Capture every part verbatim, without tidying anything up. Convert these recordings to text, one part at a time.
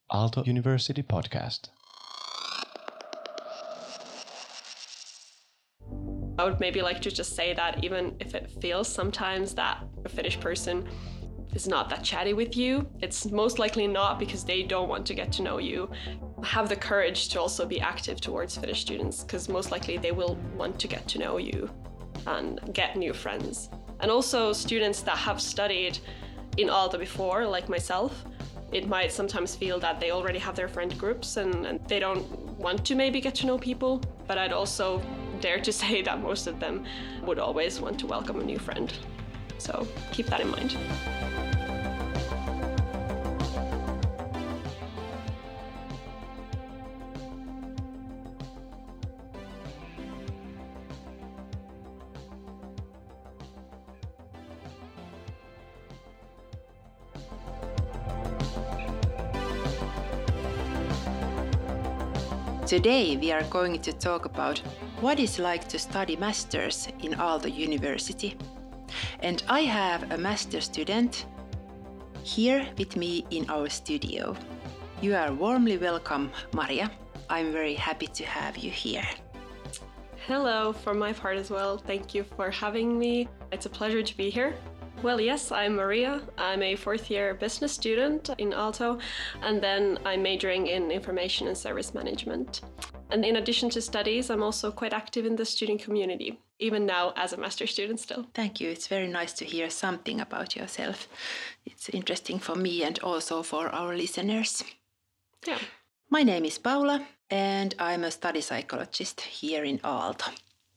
Aalto University podcast. I would maybe like to just say that even if it feels sometimes that a Finnish person is not that chatty with you, it's most likely not because they don't want to get to know you. Have the courage to also be active towards Finnish students, because most likely they will want to get to know you and get new friends. And also students that have studied in Aalto before, like myself, it might sometimes feel that they already have their friend groups and, and they don't want to maybe get to know people. But I'd also dare to say that most of them would always want to welcome a new friend. So keep that in mind. Today we are going to talk about what it's like to study masters in Aalto University. And I have a master student here with me in our studio. You are warmly welcome, Maria. I'm very happy to have you here. Hello, from my part as well. Thank you for having me. It's a pleasure to be here. Well, yes, I'm Maria. I'm a fourth year business student in Aalto, and then I'm majoring in information and service management. And in addition to studies, I'm also quite active in the student community, even now as a master student still. Thank you. It's very nice to hear something about yourself. It's interesting for me and also for our listeners. Yeah. My name is Paula, and I'm a study psychologist here in Aalto.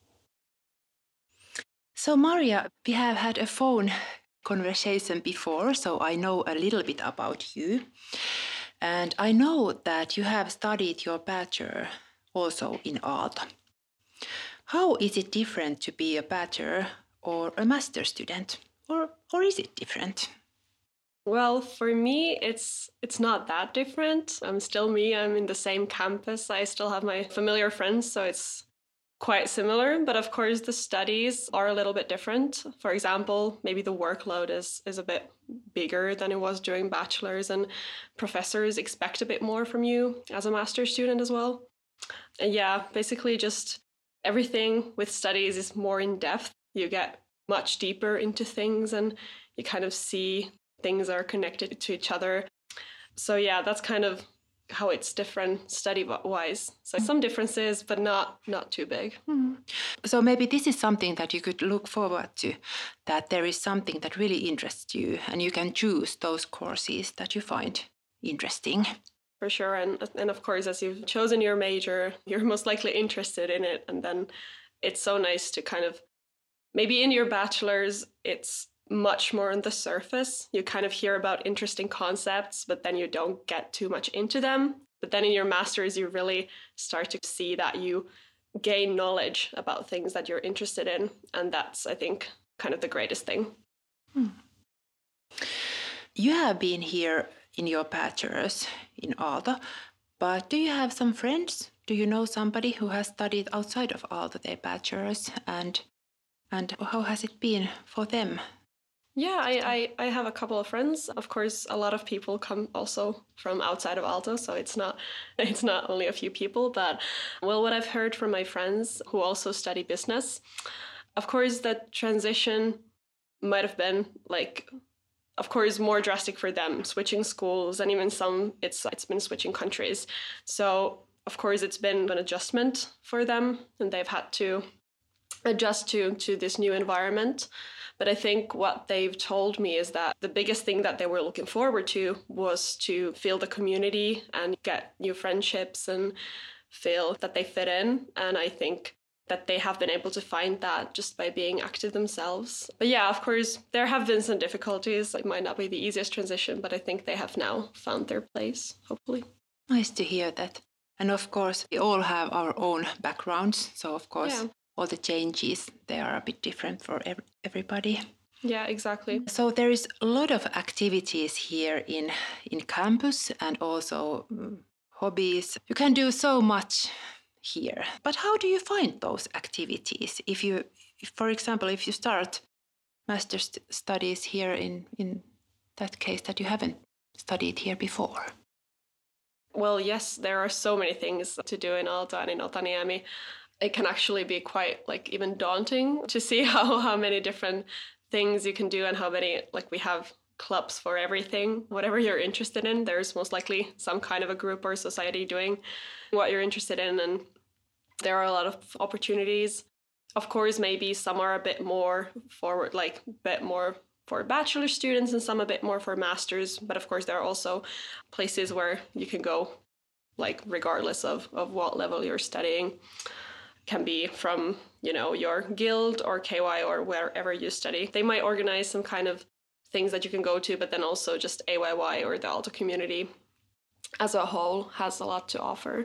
So Maria, we have had a phone conversation before, so I know a little bit about you. And I know that you have studied your bachelor also in Aalto. How is it different to be a bachelor or a master student? Or, or is it different? Well, for me, it's it's not that different. I'm still me. I'm in the same campus. I still have my familiar friends, so it's quite similar, but of course the studies are a little bit different. For example, maybe the workload is, is a bit bigger than it was during bachelor's, and professors expect a bit more from you as a master's student as well. And yeah, basically just everything with studies is more in depth. You get much deeper into things and you kind of see things are connected to each other. So yeah, that's kind of how it's different study-wise. So some differences, but not not too big. Mm. So maybe this is something that you could look forward to, that there is something that really interests you and you can choose those courses that you find interesting. For sure. And, and of course, as you've chosen your major, you're most likely interested in it. And then it's so nice to kind of, maybe in your bachelor's, it's much more on the surface. You kind of hear about interesting concepts, but then you don't get too much into them. But then in your master's, you really start to see that you gain knowledge about things that you're interested in. And that's, I think, kind of the greatest thing. Hmm. You have been here in your bachelor's in Aalto, but do you have some friends? Do you know somebody who has studied outside of Aalto their bachelor's? And, and how has it been for them? Yeah, I, I, I have a couple of friends. Of course, a lot of people come also from outside of Aalto, so it's not it's not only a few people. But, well, what I've heard from my friends who also study business, of course, the transition might have been, like, of course, more drastic for them, switching schools, and even some, it's it's been switching countries. So, of course, it's been an adjustment for them, and they've had to adjust to, to this new environment. But I think what they've told me is that the biggest thing that they were looking forward to was to feel the community and get new friendships and feel that they fit in. And I think that they have been able to find that just by being active themselves. But yeah, of course, there have been some difficulties. It might not be the easiest transition, but I think they have now found their place, hopefully. Nice to hear that. And of course, we all have our own backgrounds. So of course, yeah. All the changes, they are a bit different for ev- everybody. Yeah, exactly. So there is a lot of activities here in, in campus and also um, hobbies. You can do so much here. But how do you find those activities? If you, if, for example, if you start master's studies here in, in that case that you haven't studied here before? Well, yes, there are so many things to do in Aalto and in Otaniemi. It can actually be quite like even daunting to see how, how many different things you can do and how many, like we have clubs for everything. Whatever you're interested in, there's most likely some kind of a group or society doing what you're interested in. And there are a lot of opportunities. Of course, maybe some are a bit more forward, like a bit more for bachelor students and some a bit more for masters. But of course, there are also places where you can go, like regardless of, of what level you're studying. Can be from, you know, your guild or K Y or wherever you study. They might organize some kind of things that you can go to, but then also just A Y Y or the Aalto community as a whole has a lot to offer.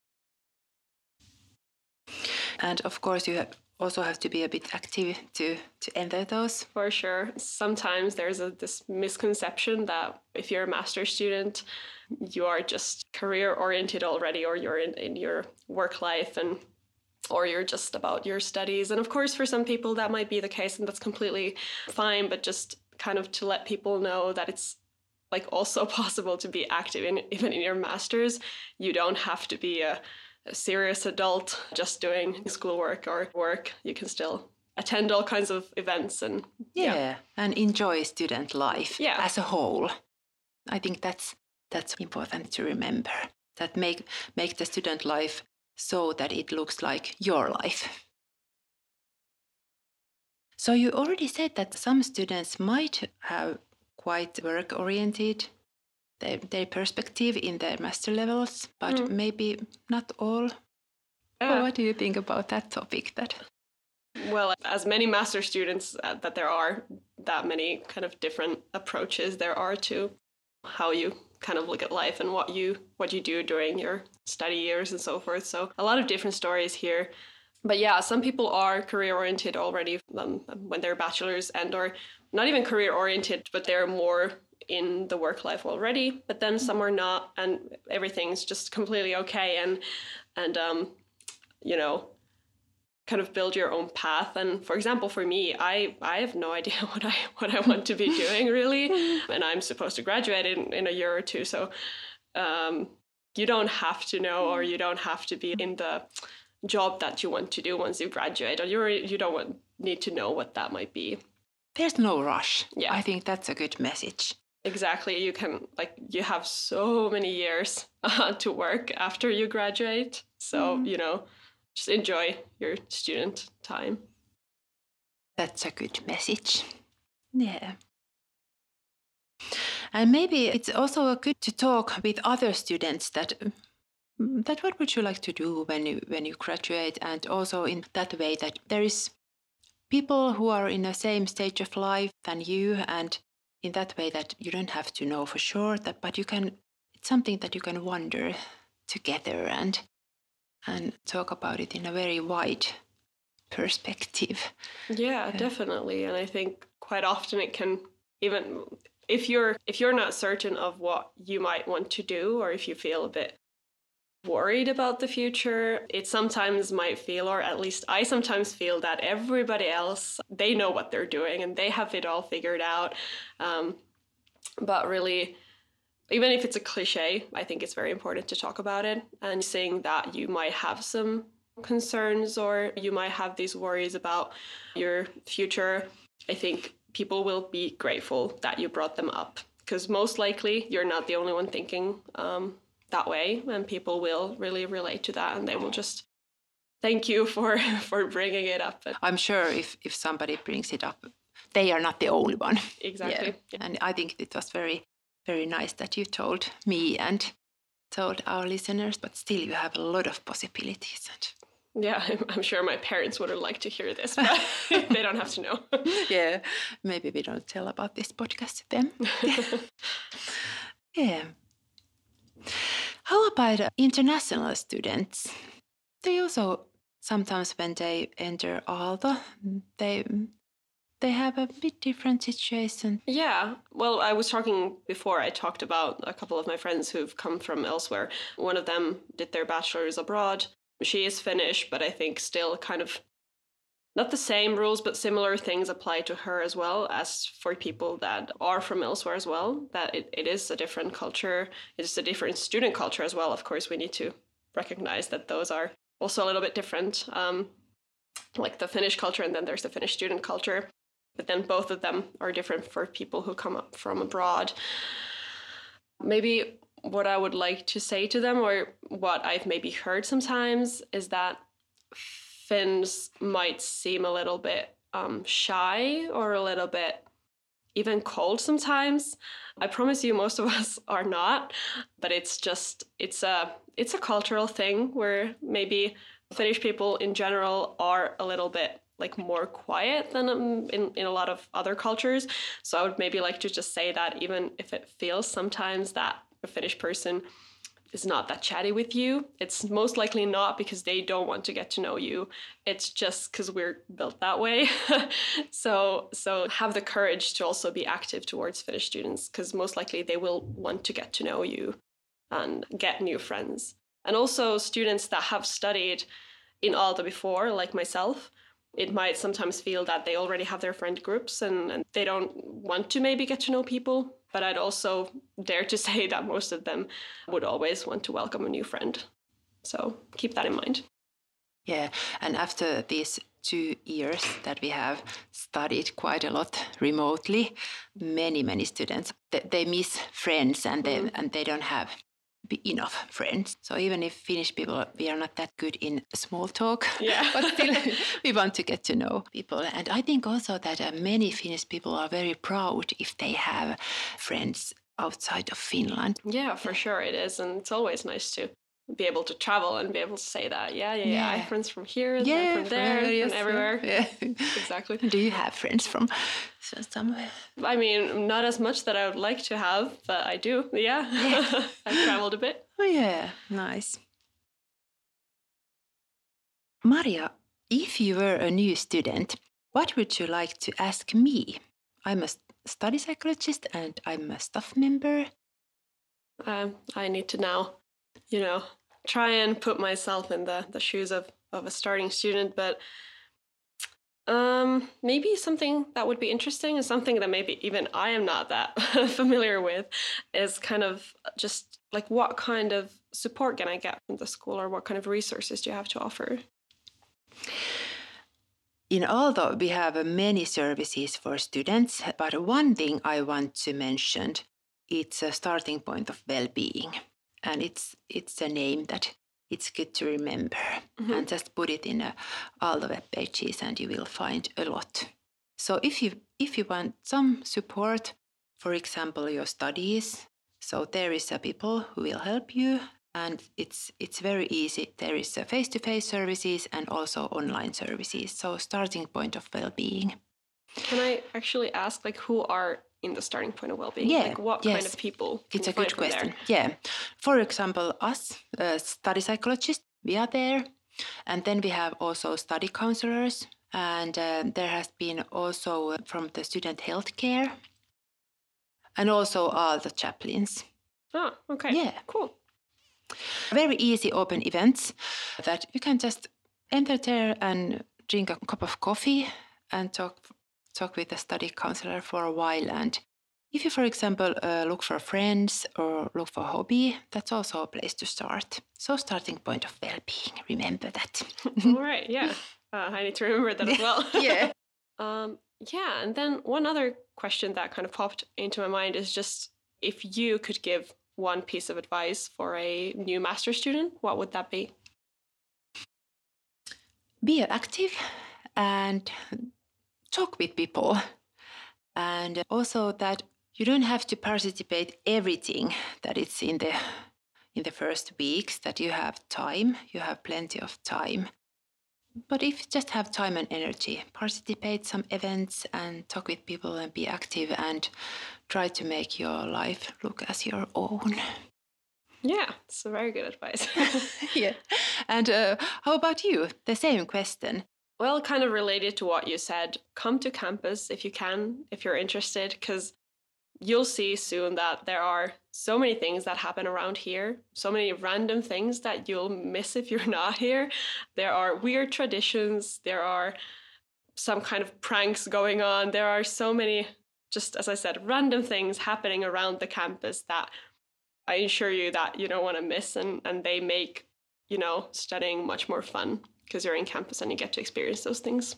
And of course, you have also have to be a bit active to, to enter those. For sure. Sometimes there's a, this misconception that if you're a master's student, you are just career-oriented already, or you're in, in your work life and or you're just about your studies. And of course, for some people that might be the case, and that's completely fine, but just kind of to let people know that it's like also possible to be active in even in your master's. You don't have to be a, a serious adult just doing schoolwork or work. You can still attend all kinds of events and yeah, yeah. and enjoy student life yeah. as a whole. I think that's that's important to remember. That make make the student life so that it looks like your life. So you already said that some students might have quite work-oriented their, their perspective in their master levels, but mm. maybe not all. Yeah. Well, what do you think about that topic? That Well, as many master students uh, that there are, that many kind of different approaches there are to how you kind of look at life and what you what you do during your study years and so forth. So a lot of different stories here. But yeah, some people are career oriented already um, when they're bachelors, and or not even career oriented, but they're more in the work life already. But then some are not, and everything's just completely okay. And and um, you know, kind of build your own path. And for example, for me, I, I have no idea what I what I want to be doing really, and I'm supposed to graduate in, in a year or two. So um, you don't have to know, or you don't have to be in the job that you want to do once you graduate, or you you don't want, need to know what that might be. There's no rush. Yeah, I think that's a good message. Exactly. You can like you have so many years uh, to work after you graduate. So mm. you know. Just enjoy your student time. That's a good message. Yeah. And maybe it's also good to talk with other students that that what would you like to do when you when you graduate, and also in that way that there is people who are in the same stage of life than you, and in that way that you don't have to know for sure that, but you can, it's something that you can wonder together and and talk about it in a very wide perspective. Yeah, uh, definitely. And I think quite often it can, even if you're if you're not certain of what you might want to do, or if you feel a bit worried about the future, it sometimes might feel, or at least I sometimes feel, that everybody else, they know what they're doing and they have it all figured out. Um, but really, even if it's a cliche, I think it's very important to talk about it, and saying that you might have some concerns or you might have these worries about your future. I think people will be grateful that you brought them up, because most likely you're not the only one thinking um, that way, and people will really relate to that, and they will just thank you for, for bringing it up. I'm sure if, if somebody brings it up, they are not the only one. Exactly. Yeah. Yeah. And I think it was very Very nice that you told me and told our listeners, but still you have a lot of possibilities. And yeah, I'm sure my parents would have liked to hear this, but they don't have to know. Yeah, maybe we don't tell about this podcast to them. Yeah. How about international students? They also sometimes, when they enter Aalto, they... They have a bit different situation. Yeah. Well, I was talking before, I talked about a couple of my friends who've come from elsewhere. One of them did their bachelor's abroad. She is Finnish, but I think still kind of not the same rules, but similar things apply to her as well as for people that are from elsewhere as well, that it, it is a different culture. It's a different student culture as well. Of course, we need to recognize that those are also a little bit different, um, like the Finnish culture, and then there's the Finnish student culture. But then both of them are different for people who come up from abroad. Maybe what I would like to say to them, or what I've maybe heard sometimes, is that Finns might seem a little bit um, shy or a little bit even cold sometimes. I promise you most of us are not, but it's just, it's a, it's a cultural thing where maybe Finnish people in general are a little bit like more quiet than um, in, in a lot of other cultures. So I would maybe like to just say that even if it feels sometimes that a Finnish person is not that chatty with you, it's most likely not because they don't want to get to know you. It's just because we're built that way. so so have the courage to also be active towards Finnish students, because most likely they will want to get to know you and get new friends. And also students that have studied in Aalto before, like myself, it might sometimes feel that they already have their friend groups and, and they don't want to maybe get to know people. But I'd also dare to say that most of them would always want to welcome a new friend. So keep that in mind. Yeah, and after these two years that we have studied quite a lot remotely, many, many students, they, they miss friends and they, mm. and they don't have enough friends. So even if Finnish people, we are not that good in small talk, yeah. but still we want to get to know people. And I think also that uh, many Finnish people are very proud if they have friends outside of Finland. Yeah, for sure it is. And it's always nice to be able to travel and be able to say that, yeah, yeah, yeah, yeah. I have friends from here, and yeah, from there, from, yes, everywhere. Yeah. Exactly. Do you have friends from somewhere? I mean, not as much that I would like to have, but I do, yeah. yeah. I've traveled a bit. Oh, yeah, nice. Maria, if you were a new student, what would you like to ask me? I'm a study psychologist and I'm a staff member. Um, I need to now, you know, try and put myself in the, the shoes of, of a starting student, but um, maybe something that would be interesting and something that maybe even I am not that familiar with is kind of just like what kind of support can I get from the school, or what kind of resources do you have to offer? In Aalto, we have many services for students, but one thing I want to mention, it's a starting point of well-being. And it's it's a name that it's good to remember. Mm-hmm. And just put it in a, all the web pages and you will find a lot. So if you if you want some support, for example, your studies, so there is a people who will help you, and it's it's very easy. There is a face-to-face services and also online services. So starting point of well-being. Can I actually ask, like, who are in the starting point of well-being? Yeah, like what yes. kind of people? It's a good question. Yeah. For example, us, uh, study psychologists, we are there. And then we have also study counselors. And uh, there has been also from the student healthcare. And also all the chaplains. Oh, okay. Yeah. Cool. Very easy open events that you can just enter there and drink a cup of coffee and talk talk with a study counselor for a while. And if you, for example, uh, look for friends or look for a hobby, that's also a place to start. So starting point of well-being, remember that. All right, yeah. Uh, I need to remember that as well. yeah. Um, yeah, and then one other question that kind of popped into my mind is just if you could give one piece of advice for a new master's student, what would that be? Be active and talk with people. And also that you don't have to participate everything that it's in the in the first weeks, that you have time, you have plenty of time. But if you just have time and energy, participate some events and talk with people and be active and try to make your life look as your own. Yeah, it's a very good advice. yeah. And uh, how about you? The same question. Well, kind of related to what you said, come to campus if you can, if you're interested, because you'll see soon that there are so many things that happen around here, so many random things that you'll miss if you're not here. There are weird traditions, there are some kind of pranks going on. There are so many, just as I said, random things happening around the campus that I assure you that you don't want to miss, and, and they make, you know, studying much more fun because you're in campus and you get to experience those things.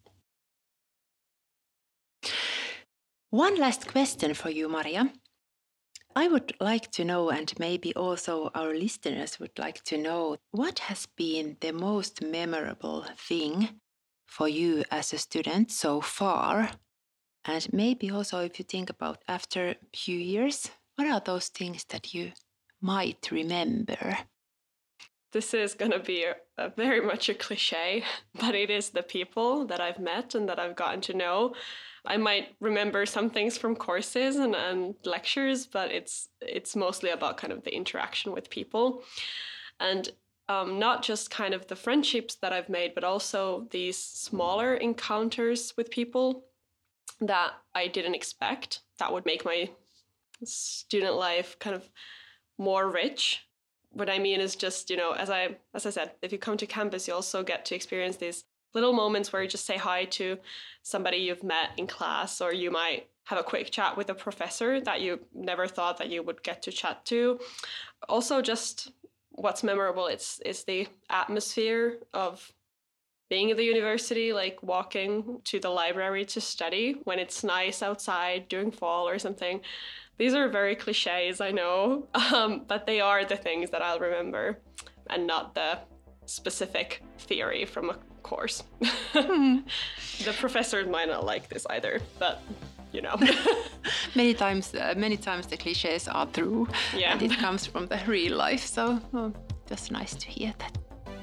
One last question for you, Maria. I would like to know, and maybe also our listeners would like to know, what has been the most memorable thing for you as a student so far? And maybe also if you think about after a few years, what are those things that you might remember? This is going to be a, a very much a cliche, but it is the people that I've met and that I've gotten to know. I might remember some things from courses and, and lectures, but it's it's mostly about kind of the interaction with people. And um, not just kind of the friendships that I've made, but also these smaller encounters with people that I didn't expect that would make my student life kind of more rich. What I mean is just, you know, as I as I said, if you come to campus, you also get to experience these little moments where you just say hi to somebody you've met in class, or you might have a quick chat with a professor that you never thought that you would get to chat to. Also, just what's memorable is, is the atmosphere of being at the university, like walking to the library to study when it's nice outside during fall or something. These are very cliches, I know, um, but they are the things that I'll remember and not the specific theory from a course. The professors might not like this either, but you know. many times uh, many times the cliches are true, yeah. And it comes from the real life, so oh, that's nice to hear that.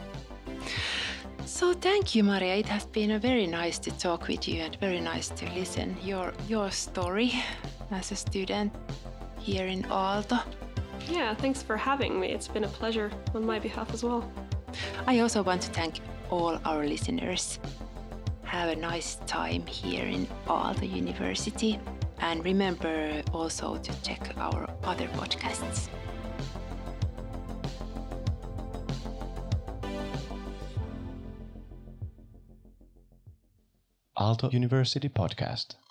So thank you, Maria. It has been a very nice to talk with you and very nice to listen your your story as a student here in Aalto. Yeah, thanks for having me. It's been a pleasure on my behalf as well. I also want to thank all our listeners. Have a nice time here in Aalto University, and remember also to check our other podcasts. Aalto University Podcast.